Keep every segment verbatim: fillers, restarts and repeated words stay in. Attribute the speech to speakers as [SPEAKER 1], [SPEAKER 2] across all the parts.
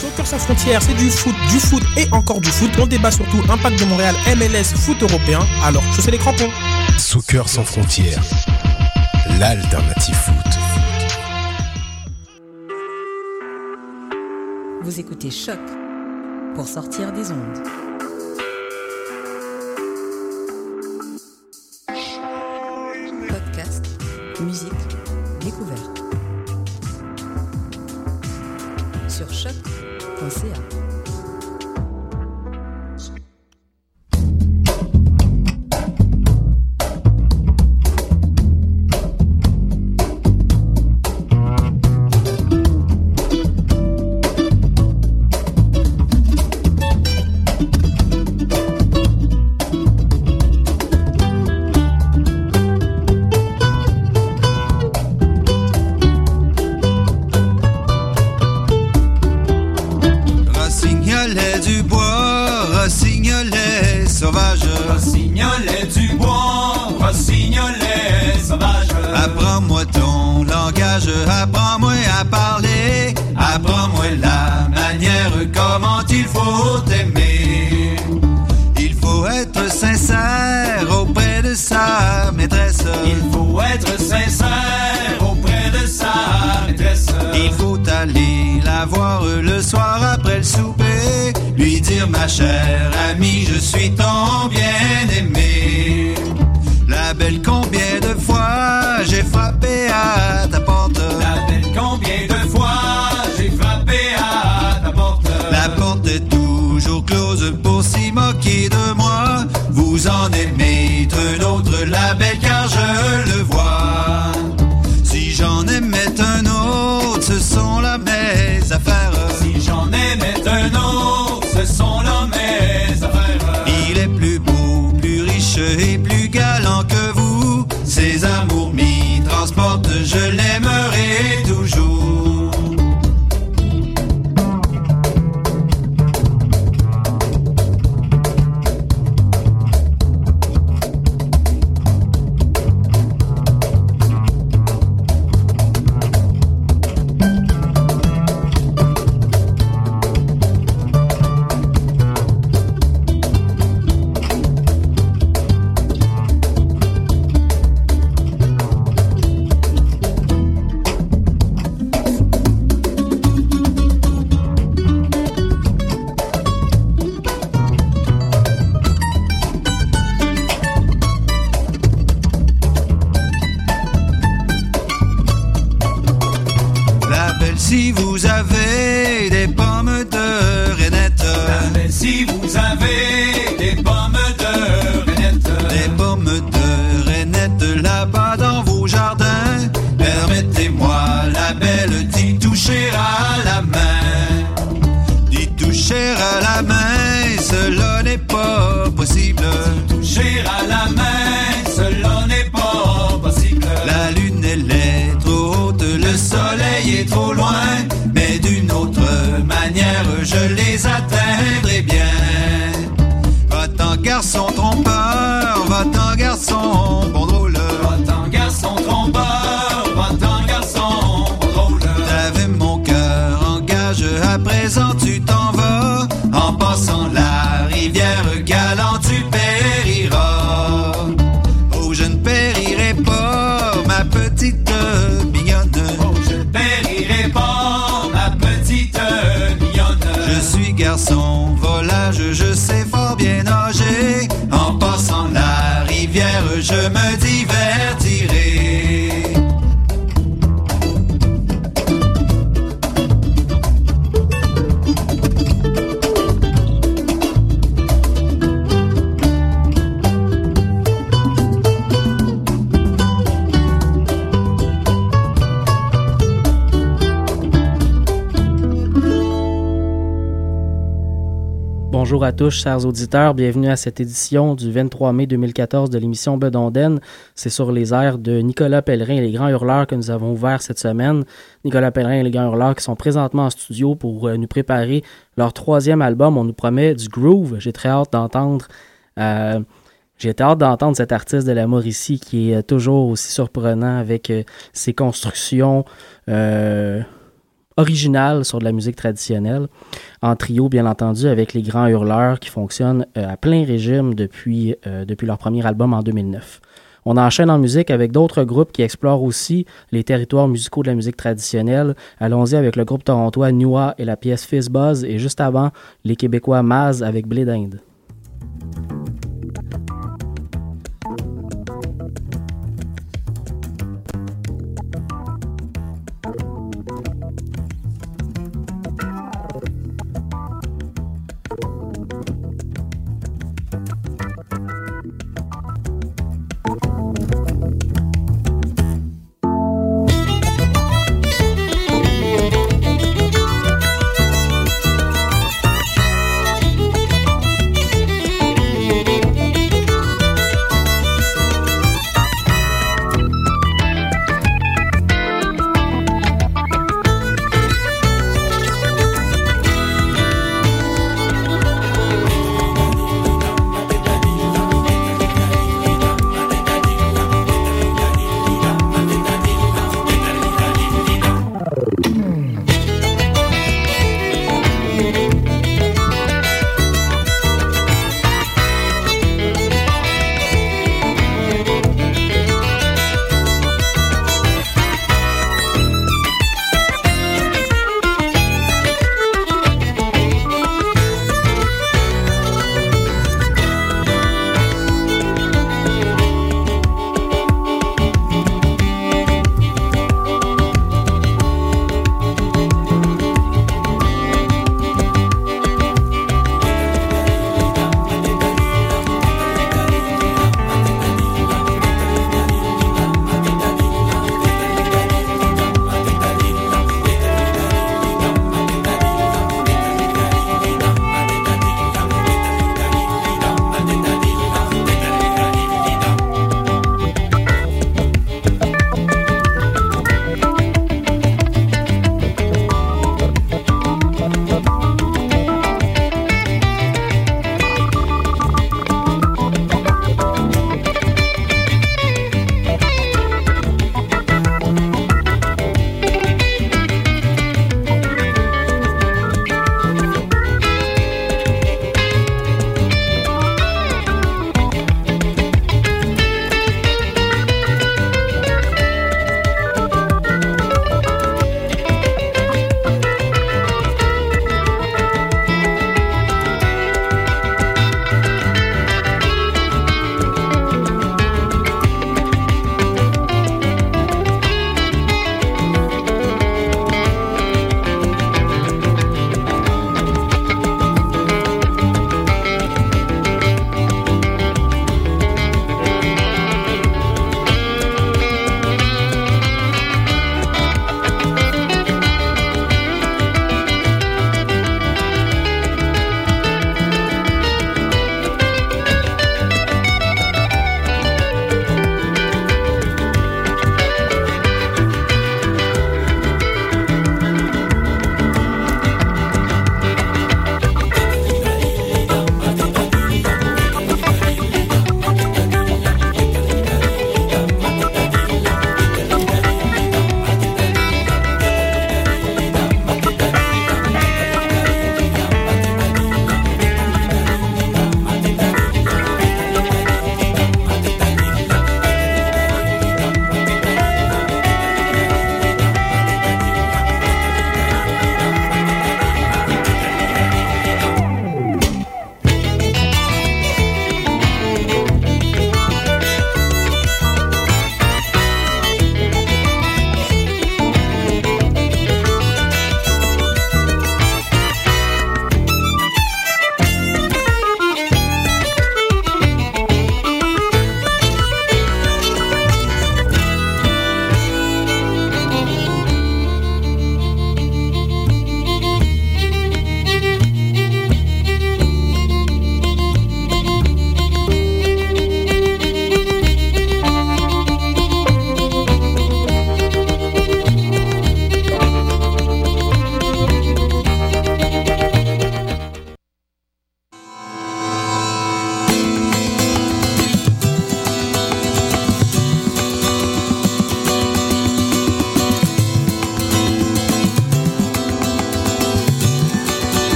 [SPEAKER 1] Soccer sans frontières, c'est du foot, du foot et encore du foot. On débat surtout impact de Montréal, M L S, foot européen. Alors, chaussez les crampons.
[SPEAKER 2] Soccer sans frontières, l'alternative foot.
[SPEAKER 3] Vous écoutez Choc pour sortir des ondes. Podcast, musique, découverte. Sur choc point c a.
[SPEAKER 4] Rossignolet du bois, rossignolet sauvage. Apprends-moi ton langage, apprends-moi à parler. Apprends-moi la manière comment il faut aimer. Il faut être sincère auprès de sa maîtresse. Il faut être sincère auprès de sa maîtresse. Il faut aller la voir le soir après le souper. Lui dire ma chère amie, je suis ton bien-aimé. La belle, combien de fois j'ai frappé à ta porte. La belle, combien de fois j'ai frappé à ta porte. La porte est toujours close pour s'y moquer de moi. Vous en aimez un autre, la belle, car je le vois. Si j'en aimais un autre, ce sont là mes affaires. Si j'en aimais un autre, ce sont là mes affaires. Il est plus beau, plus riche et plus galant que vous. Ses amours m'y transportent, je l'aimerai toujours. Si vous avez des pommes de reinette, si vous avez des pommes de reinette, des pommes de reinette là-bas dans vos jardins, permettez-moi la belle d'y toucher à la main, d'y toucher à la main, cela n'est pas possible. Toucher à la main, cela n'est pas possible. La lune elle est trop haute, le soleil est trop loin, mais d'une autre manière je les atteindrai bien. Va-t'en garçon trompeur, va-t'en garçon bon drôle. Va-t'en garçon trompeur, va-t'en garçon bon drôle. T'avais mon cœur en gage, à présent tu t'en vas. En passant la rivière galant tu périras. Oh je ne périrai pas ma petite mignonne. Oh je ne périrai pas ma petite mignonne. Je suis garçon volage, je sais fort bien nager. En passant la rivière je me divertirai.
[SPEAKER 5] Bonjour à tous, chers auditeurs. Bienvenue à cette édition du vingt-trois mai deux mille quatorze de l'émission Bedonden. C'est sur les airs de Nicolas Pellerin et les Grands Hurleurs que nous avons ouvert cette semaine. Nicolas Pellerin et les Grands Hurleurs qui sont présentement en studio pour euh, nous préparer leur troisième album. On nous promet du groove. J'ai très hâte d'entendre... Euh, J'ai hâte d'entendre cet artiste de la Mauricie qui est toujours aussi surprenant avec euh, ses constructions... Euh, original sur de la musique traditionnelle, en trio bien entendu avec les Grands Hurleurs qui fonctionnent euh, à plein régime depuis, euh, depuis leur premier album en deux mille neuf. On enchaîne en musique avec d'autres groupes qui explorent aussi les territoires musicaux de la musique traditionnelle. Allons-y avec le groupe torontois Nua et la pièce Fizz Buzz, et juste avant, les Québécois Maz avec Blé d'Inde.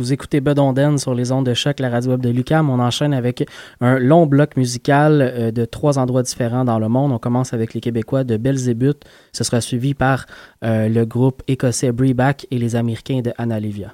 [SPEAKER 5] Vous écoutez Bedonden sur les ondes de choc, la radio web de l'U Q A M. On enchaîne avec un long bloc musical euh, de trois endroits différents dans le monde. On commence avec les Québécois de Belzébuth. Ce sera suivi par euh, le groupe écossais Breback et les Américains de Analivia.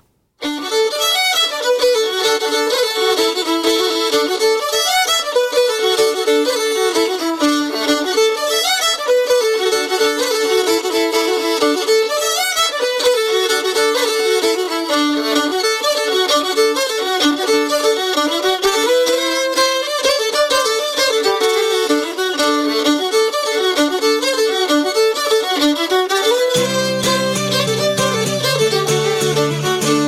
[SPEAKER 6] Thank you.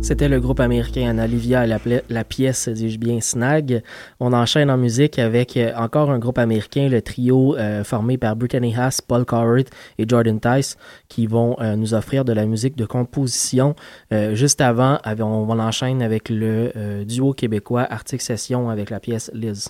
[SPEAKER 5] C'était le groupe américain Olivia et la, la pièce, dis-je bien, Snag. On enchaîne en musique avec euh, encore un groupe américain, le trio euh, formé par Brittany Haas, Paul Coward et Jordan Tice, qui vont euh, nous offrir de la musique de composition. Euh, juste avant, on, on enchaîne avec le euh, duo québécois Arctic Session avec la pièce Liz.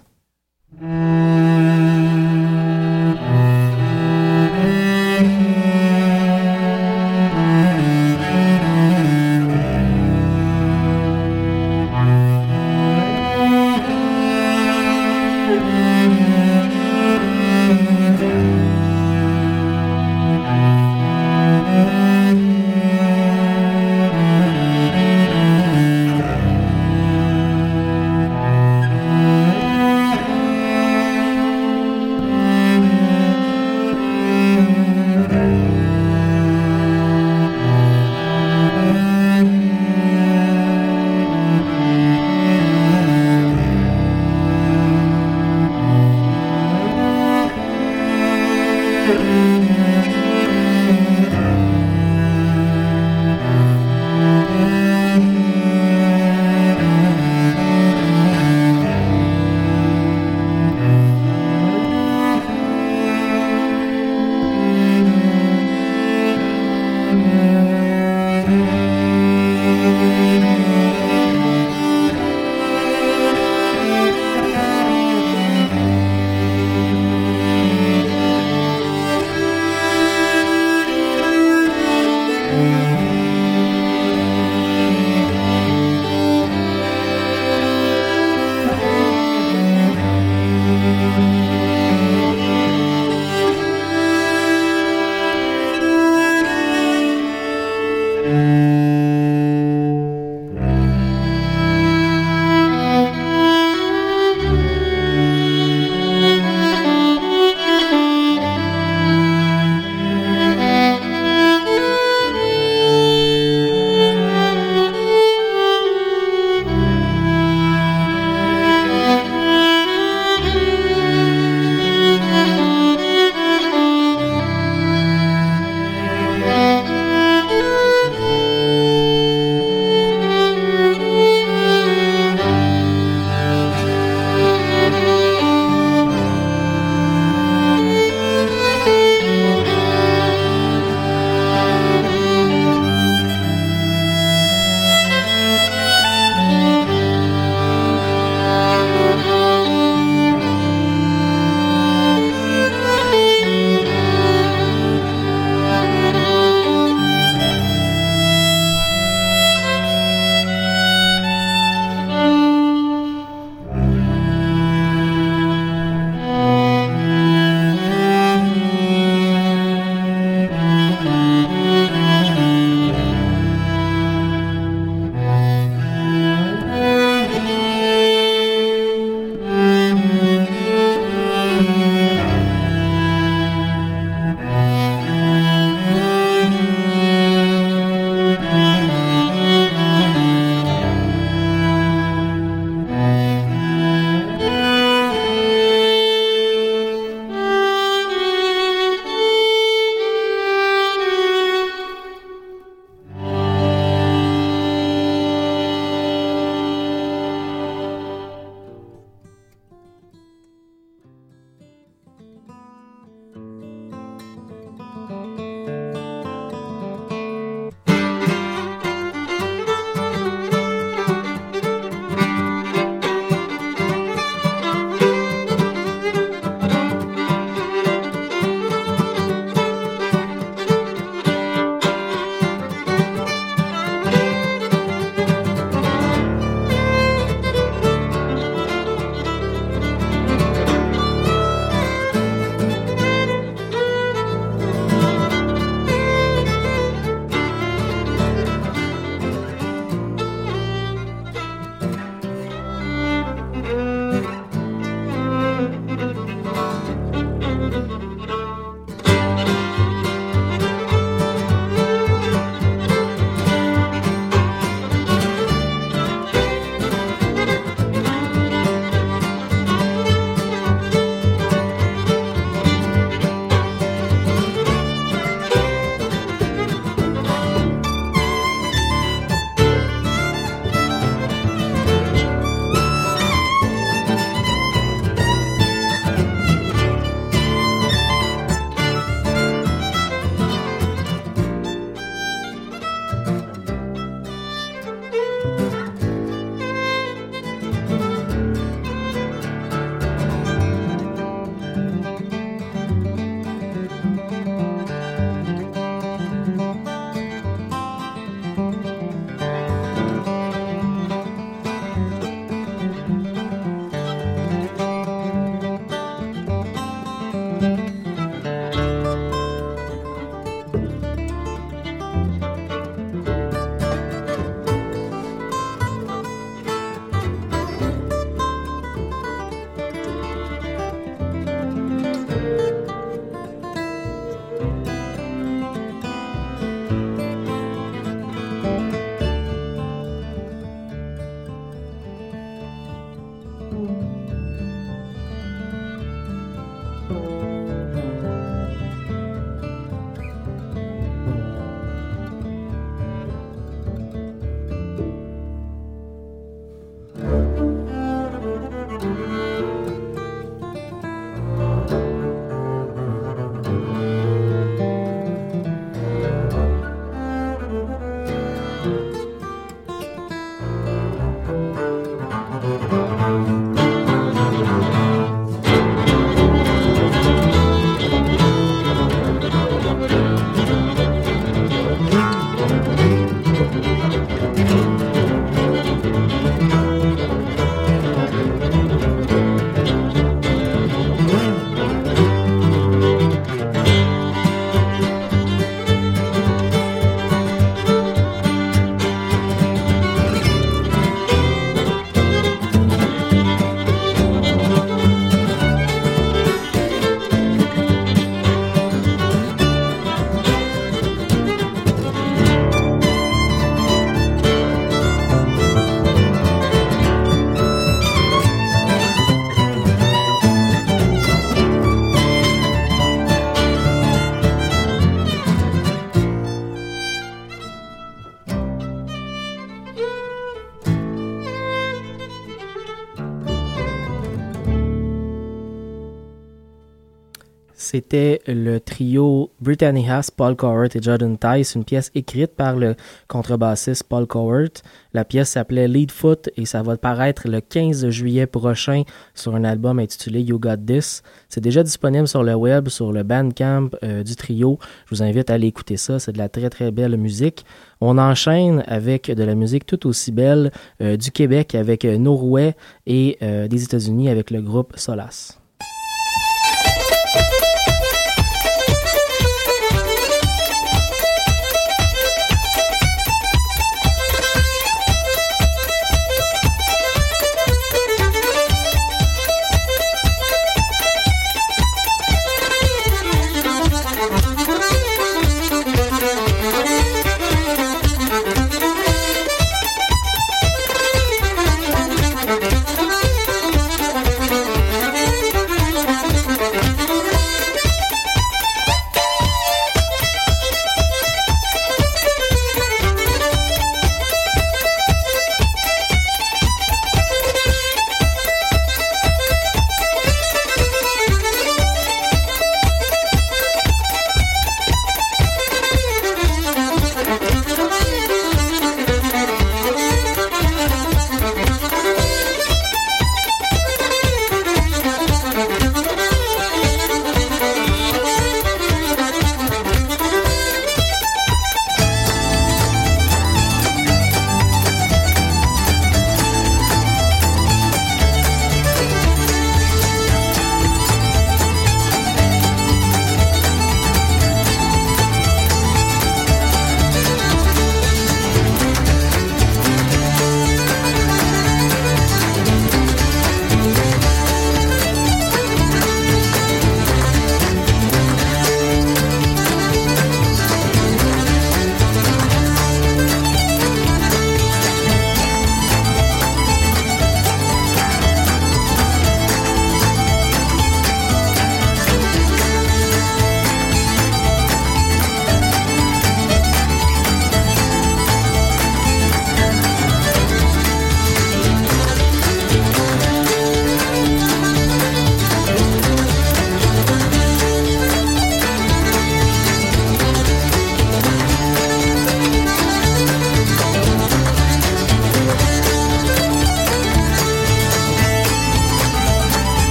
[SPEAKER 5] C'était le trio Brittany Haas, Paul Cowherd et Jordan Tice, une pièce écrite par le contrebassiste Paul Cowherd. La pièce s'appelait Leadfoot et ça va paraître le quinze juillet prochain sur un album intitulé You Got This. C'est déjà disponible sur le web, sur le Bandcamp euh, du trio. Je vous invite à aller écouter ça, c'est de la très très belle musique. On enchaîne avec de la musique tout aussi belle euh, du Québec avec euh, Norway et euh, des États-Unis avec le groupe Solace.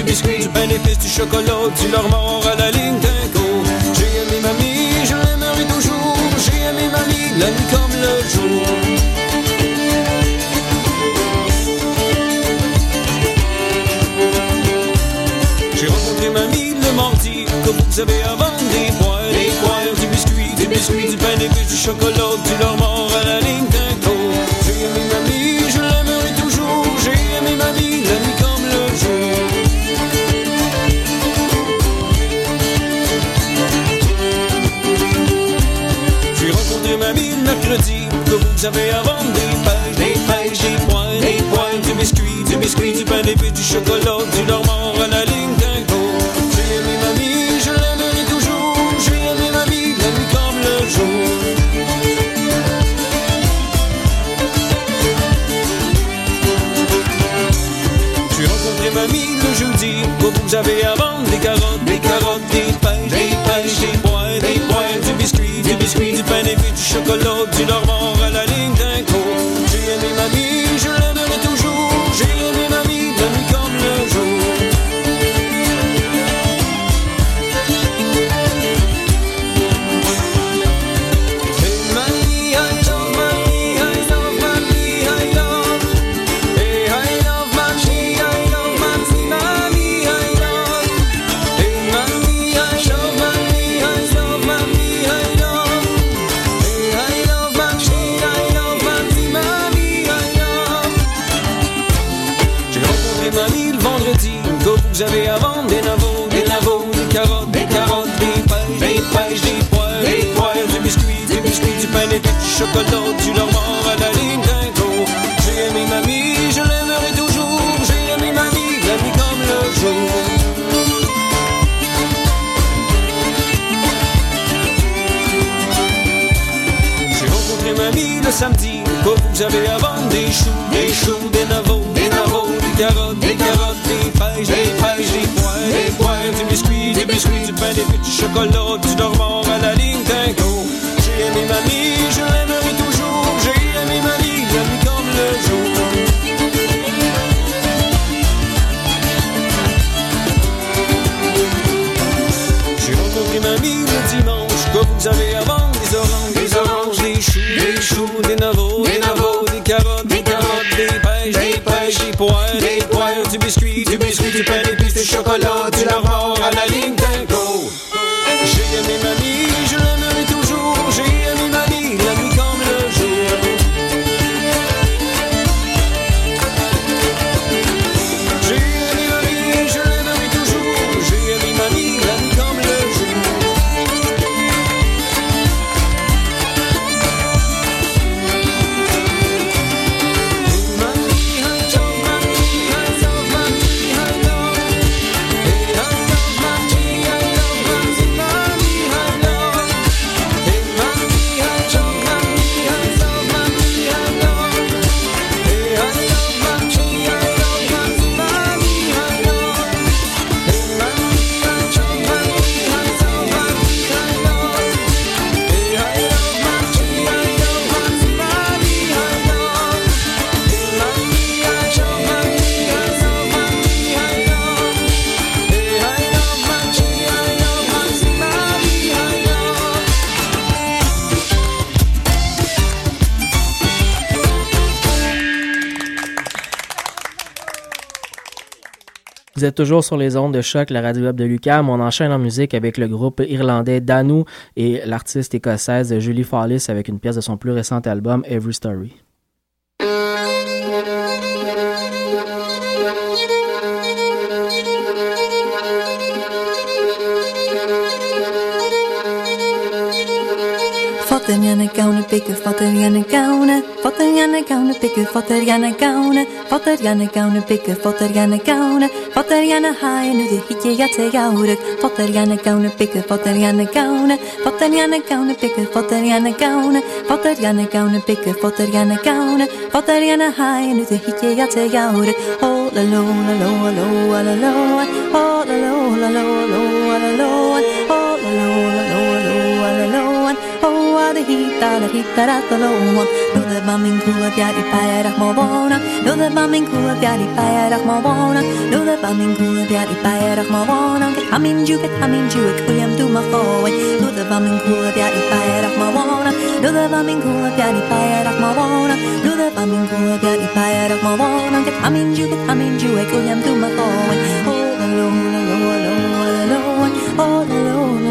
[SPEAKER 6] Chocolat, tu leur mords à la ligne d'un coup. J'ai aimé mamie, je l'aimerai avez à vendre des poils, des poils, du biscuit, du biscuit, du pain, des bûches, du chocolat, du leur mort à la ligne d'un tour. J'ai aimé mamie, je l'aimerai toujours. J'ai aimé mamie, la nuit comme le jour. J'ai rencontré mamie le mercredi, que vous avez à vendre des pêches, des pêches, des poils, des poils, du biscuit, du biscuit, du pain, des bûches, du chocolat, du leur mort à la ligne d'un tour. J'ai aimé mamie, je l'aimerai toujours. J'ai aimé mamie, la nuit comme le jour. J'ai rencontré mamie le jeudi, où vous avez à vendre des carottes, des carottes, des pêches, des pêches, des poils, des poils, du biscuit, du biscuit, du pain, des bûches, du chocolat, du leur mort à la ligne d'un cours. J'ai aimé mamie, je l'aimerai toujours. J'ai aimé mamie, la nuit comme le jour. Hey mamie, I love mamie, I love mamie, I love. Hey, I love mamie, I love mamie, mamie, I love. Hey mamie, I love mamie, I love mamie, I love. Hey, I love mamie, I love mamie, mamie, I love. J'ai rencontré mamie le vendredi, que vous avez à vendre des navots, des navots, des carottes, des carottes, des pêches, des pêches, des poils, des poils, du biscuit, du biscuit, du pain, des bûches, du chocolat, du leur mort à la ligne d'un tour. J'ai aimé mamie, je l'aimerai toujours. J'ai aimé mamie, la nuit comme le jour. J'ai rencontré mamie le samedi, que vous avez à vendre des choux, des choux, des navots, des navots, des carottes, des carottes, des pêches, des pêches, des poils, des poils, du biscuit, du biscuit, du pain, des bûches, du chocolat, du leur mort à la ligne d'un cours. J'ai aimé mamie, je l'aimerai toujours. J'ai aimé mamie, la nuit comme le jour. J'ai rencontré mamie le dimanche, que vous avez à vendre des oranges, des oranges, des choux, des choux, des navots, des navots, des carottes, des carottes, des pêches, des pêches, des poils, des poils, du biscuit, du biscuit, du pain, des bûches, du chocolat, du leur mort à la ligne d'un cours. J'ai aimé mamie, je l'aimerai toujours. J'ai aimé mamie, la nuit comme le jour. J'ai aimé mamie, je l'aimerai toujours. J'ai aimé mamie, la nuit comme le jour. Hey mamie, I love mamie, I love mamie, I love. Hey, I love mamie, I love mamie, mamie, I love. Hey mamie, I love mamie, I love mamie, I love. Hey, I love mamie, I love mamie, mamie, I love. Hey mamie, I love mamie, I love mamie, I love. Hey, I love mamie, I love mamie, mamie, I love. Hey mamie, I love mamie, I love mamie, I love. Hey, I love mamie, I love mamie, mamie, I love.
[SPEAKER 5] Vous êtes toujours sur les ondes de choc, la radio web de l'U Q A M. On enchaîne en musique avec le groupe irlandais Danu et l'artiste écossaise Julie Follis avec une pièce de son plus récent album Every Story.
[SPEAKER 7] Fatter gärna gauna bygga, fatter gärna gauna, fatter gärna gauna bygga, fatter gärna gauna, fatter gärna gauna bygga, fatter gärna gauna, fatter gärna haja nu det hickar jag till jaurek, fatter gärna gauna bygga, fatter gärna gauna, fatter gärna gauna bygga, fatter gärna gauna, fatter gärna gauna bygga, fatter gärna gauna, fatter gärna haja nu det hickar jag till jaurek, oh la lo la lo la lo la lo, oh la lo la lo la lo la lo, oh la lo la lo la lo la lo. Oh, the heat, the heat that at the low one. No, the bombing cool of Yadi Payarach Mobona. No, the bombing cool of Yadi Payarach Mobona. No, the bombing cool of Yadi Payarach Mobona. Get Hamin Jew, get Hamin Jew, it William do my forward. No, the bombing cool of Yadi Payarach Mobona. No, the bombing cool of Yadi Payarach Mobona. No, the bombing cool of Yadi Payarach Mobona. Get Hamin Jew, get Hamin Jew, it William do my forward. Oh, the low, the low, the low, the low, oh, the low.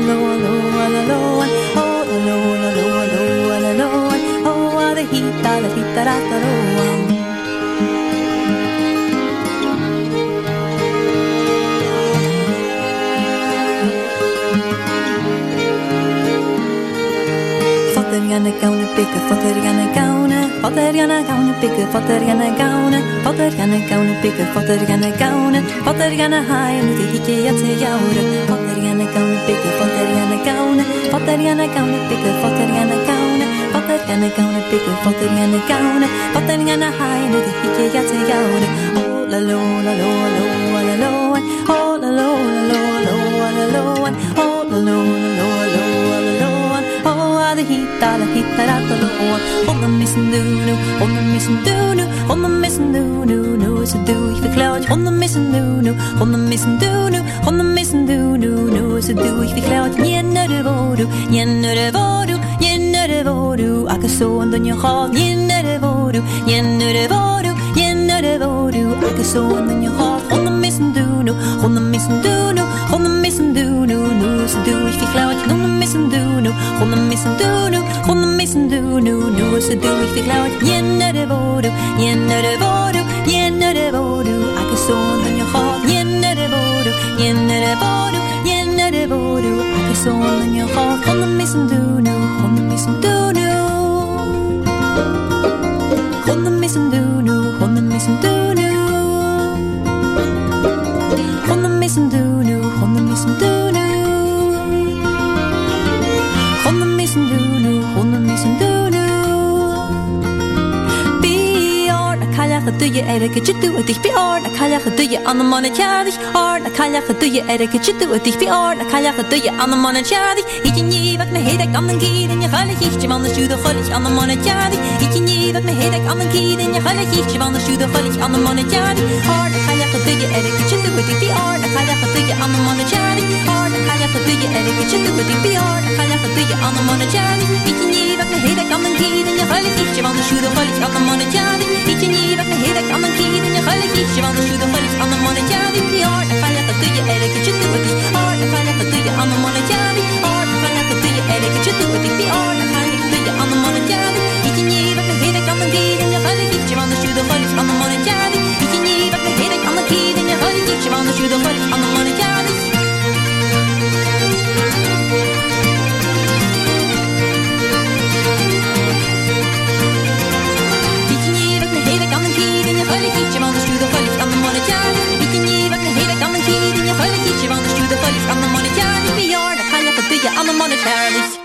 [SPEAKER 7] Fatariana gauna bigga, Fatariana gauna, Fatariana gauna bigga, Fatariana gauna, Fatariana gauna bigga, Fatariana gauna, Fatariana high and the hiki at the yaura, Fatariana gauna bigga, Fatariana gauna, Fatariana gauna bigga, Fatariana gauna, Fatariana gauna bigga, Fatariana gauna, Fatariana high and the hiki at the yaura, oh la lo la lo lo la lo, oh la lo la lo la lo, oh la lo la lo la lo. Oh, the heat, the heat, the low. On the missing doo, on the missing doo, on the missing doo, no, it's a doo if the cloud. On the missing doo, on the missing doo, on the missing doo, no, it's a doo if the cloud. Yen the voodoo, yen the voodoo, yen the voodoo. I can sew on the new hall, yen the voodoo, yen the voodoo, yen the voodoo. I can sew on the new hall. On the missing doo, on the missing doo, on the missing doo, no, it's a doo if the cloud. On the missing doo, on the missing doo. Hon the missing do no no så du vi fick loud Jenna det var du Jenna det var du Jenna det var du I can so on your heart Jenna det var du Jenna det var du Jenna det var du I can so on your heart Hon the missing do no Hon the missing do no Hon the missing do no Hon the missing do no Hon the missing do no Hon the missing do no Hon the missing do Hon the missing do no Be or na kalla do you er get you do it be or na kalla do you on the money charity or na kalla do you er get you do it be or na kalla do you on the money charity ik nie wat me heet ik aan den kied en je galle gietje van de stuurde gollig aan de money charity ik nie wat me heet ik aan den kied en je galle gietje van de stuurde gollig aan de money charity or na kalla do you er get you do it be or na kalla do you on the money charity or na kalla do you er get you do it be or na kalla do you on the money charity ik nie wat me heet ik aan den kied en je galle gietje van de stuurde gollig aan de money charity ik nie wat me heet ik aan den kied en je galle gietje van de stuurde gollig aan de money charity or na kalla do you er get you do it or na kalla do you on the money charity or na kalla do you er get you do it be or na kalla do you on the money charity ik nie wat me heet ik aan den kied en je galle gietje van de stuurde gollig aan de money charity ik nie wat me heet ik aan den kied en je galle gietje van de stuurde gollig aan de money charity on the money charities.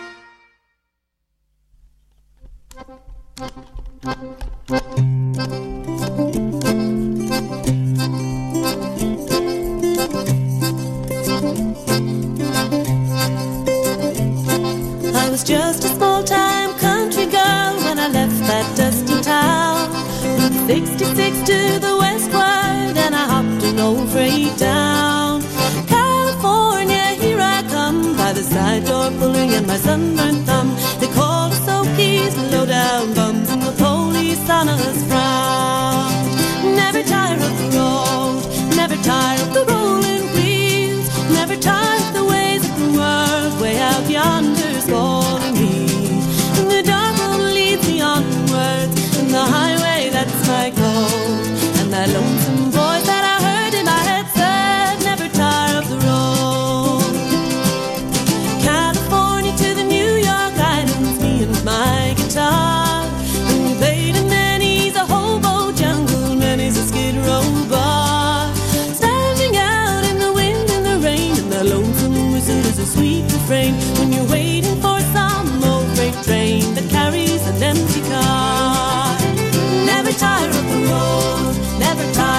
[SPEAKER 8] I was just a small-time country girl when I left that dusty town. From sixty-six to the westward, and I hopped an old freight down. California, here I come, by the side door pulling in my sunburned thumb. They called us Okies, low-down bums, and the police on us frowned. Never tire of the road, never tire of the rolling wheels, never tire of the ways of the world, way out yonder's calling me. And the dark road leads me onwards, and the highway, that's my goal. And that lonesome voice that I heard in my head said, never tire of the road. California to the New York Islands, me and my guitar. And we played in Manny's a hobo jungle, Manny's a skid row bar. Standing out in the wind and the rain, and the lonesome whistle is a sweet refrain when you're waiting for some old freight train that carries an empty car. Never tire of the road, never tire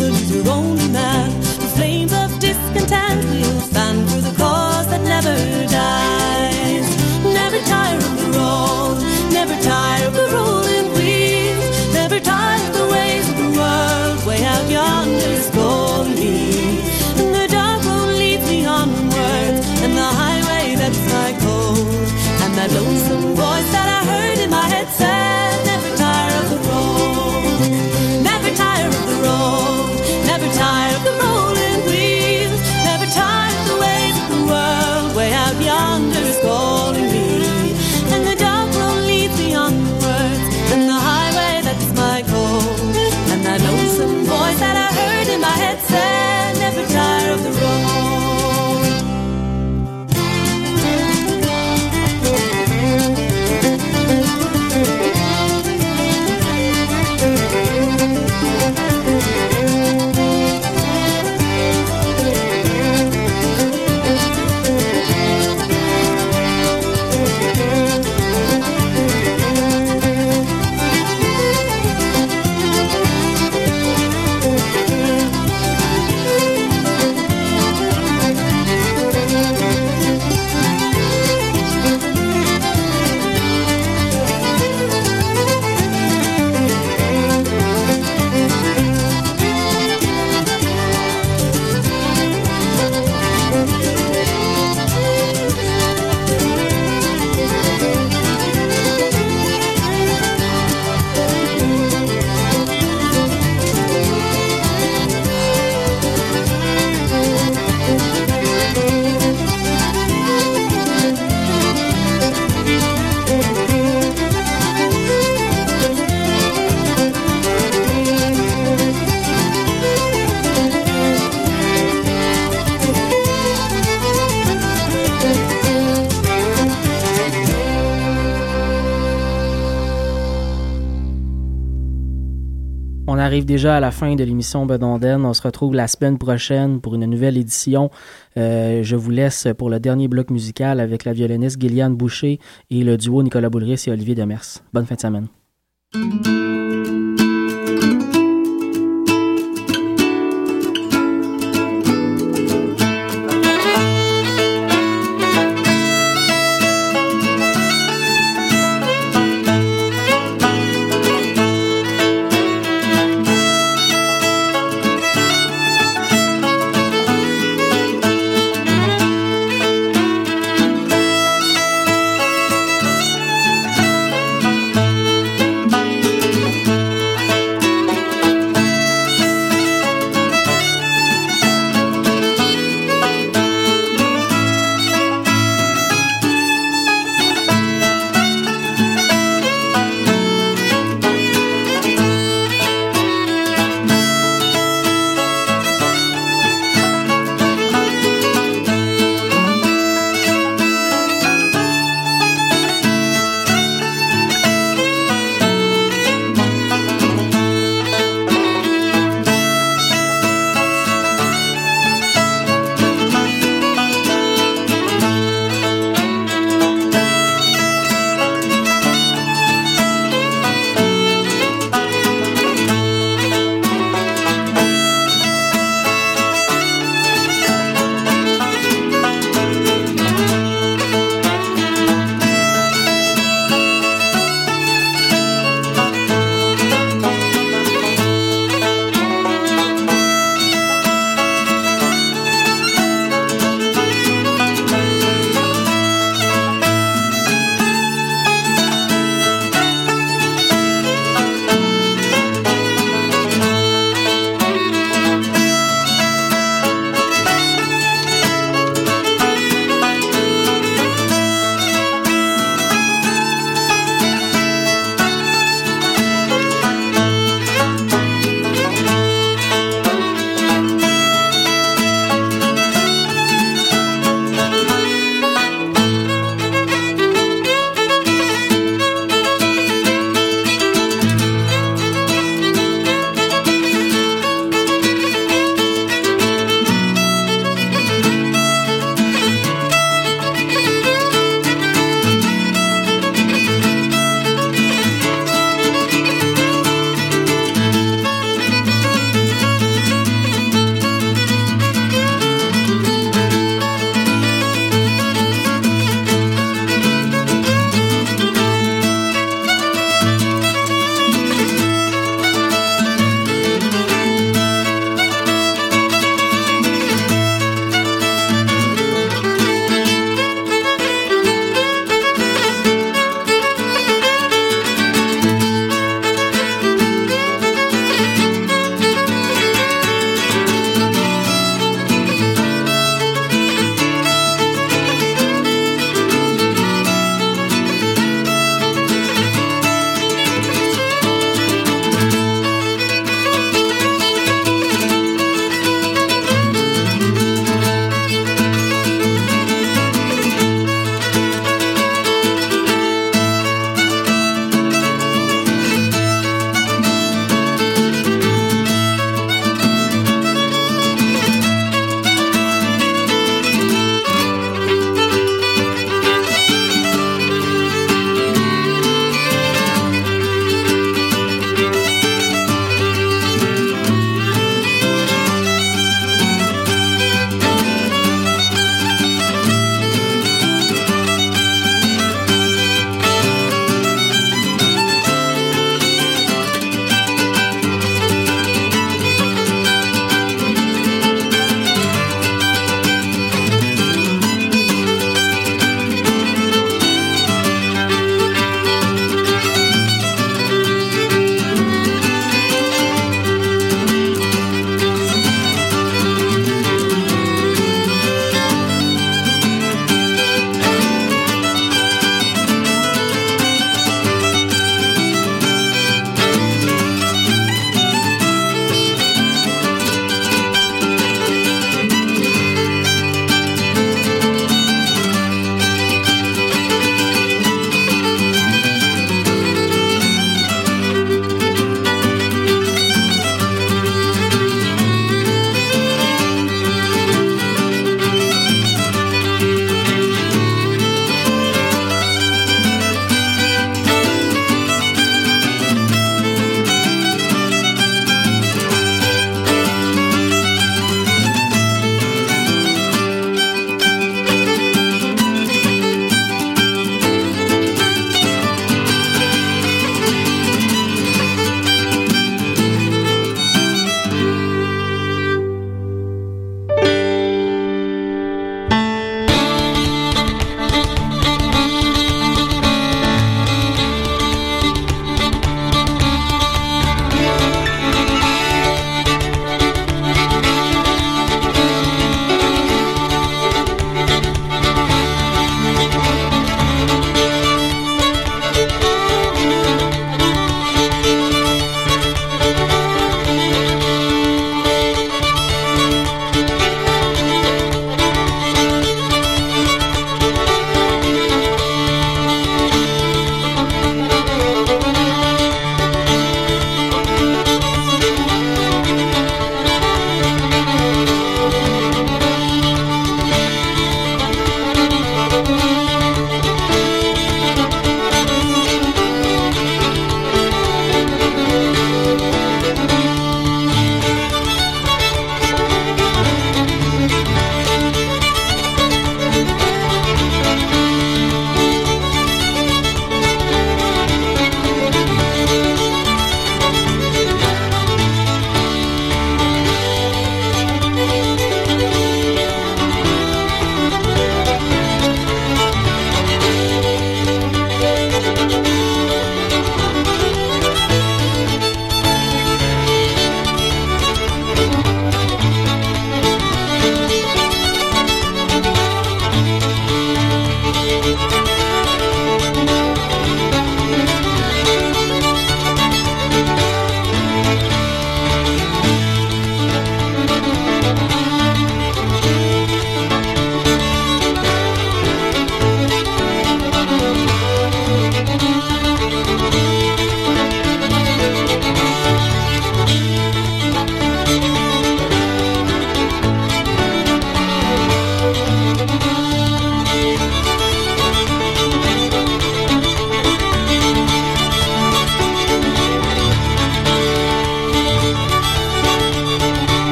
[SPEAKER 8] the news are only man. The flames of discontent will fan for the cause that never dies. Never tire of the road, never tire of the rolling wheels, never tire of the ways of the world. Way out yonder is calling me, and the dark road leads me onward, and the highway that's my code, and that lonesome voice that I heard in my head said, never tire of the road, never tire of the road, never tire of the rolling wheels, never tire of the ways of the world. Way out yonder is calling me, and the dark road leads me onwards, and the highway that's my code, and that lonesome voice that I heard in my head said, never tire of the road.
[SPEAKER 5] On arrive déjà à la fin de l'émission Bedonden. On se retrouve la semaine prochaine pour une nouvelle édition. Euh, je vous laisse pour le dernier bloc musical avec la violoniste Gilliane Boucher et le duo Nicolas Boulris et Olivier Demers. Bonne fin de semaine.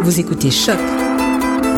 [SPEAKER 3] Vous écoutez Choc